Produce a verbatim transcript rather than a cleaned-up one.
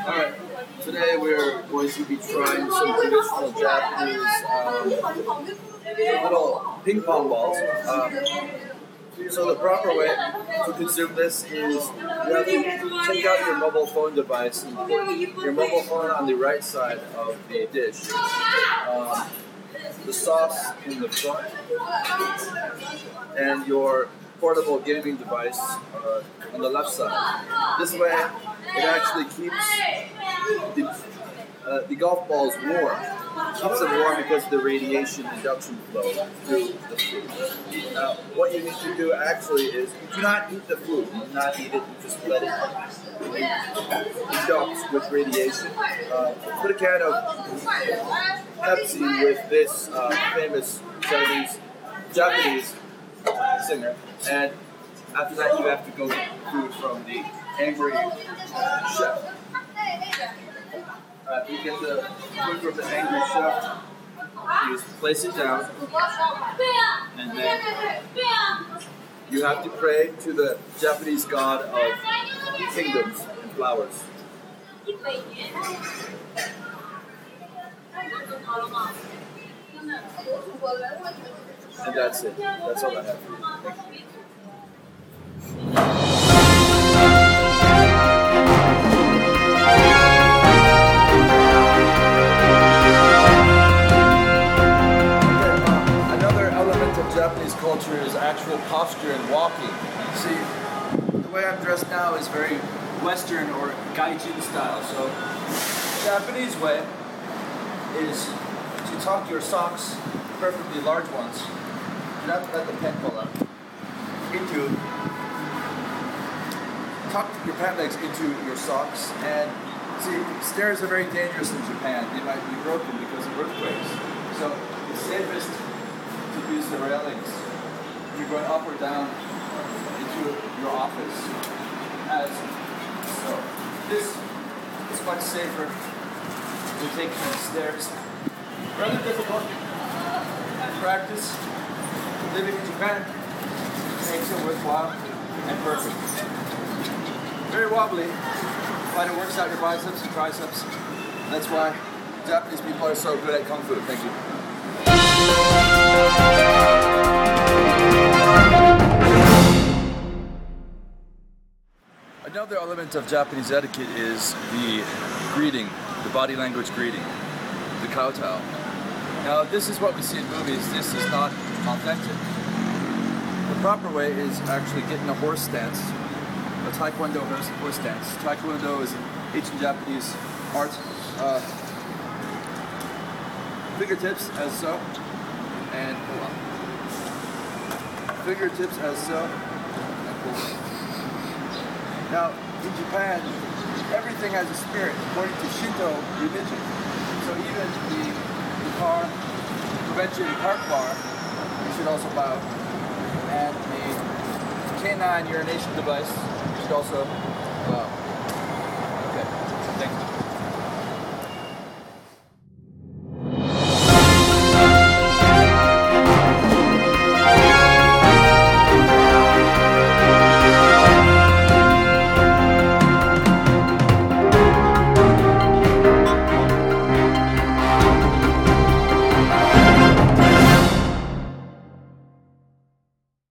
Alright, today we're going to be trying some traditional Japanese um, little ping pong balls. Um, so the proper way to consume this is you have to take out your mobile phone device and put your mobile phone on the right side of the dish. Um, the sauce in the front, and your portable gaming device uh, on the left side. This way, it actually keeps the, uh, the golf balls warm. It keeps them warm because of the radiation induction flow through the food. Now, what you need to do actually is you do not eat the food. You do not eat it. You just let it induct with radiation. Uh, put a can of Pepsi with this uh, famous Chinese, Japanese singer, and after that you have to go get food from the angry chef. Uh, you get the food from the angry chef, you just place it down, and then you have to pray to the Japanese god of kingdoms and flowers. And that's it. That's all I have for you. Thank you. Another element of Japanese culture is actual posture and walking. See, the way I'm dressed now is very Western or gaijin style. So, the Japanese way is to tuck your socks, preferably large ones, do not let the pen pull up, into, tuck your pant legs into your socks. And see, stairs are very dangerous in Japan. They might be broken because of earthquakes. So it's safest to use the railings when you're going up or down into your office. As so, this is much safer than taking the stairs. Rather difficult practice. Living in Japan makes it worthwhile and perfect. Very wobbly, but it works out your biceps and triceps. That's why Japanese people are so good at kung fu. Thank you. Another element of Japanese etiquette is the greeting, the body language greeting, the kowtow. Now, this is what we see in movies. This is not authentic. The proper way is actually getting a horse stance, a taekwondo horse stance. Taekwondo is an ancient Japanese art. Uh, fingertips as so, and pull up. Fingertips as so, and pull up. Now, in Japan, everything has a spirit according to Shinto religion. So even the car, convention park bar, you should also bow. And the canine urination device, you should also bow.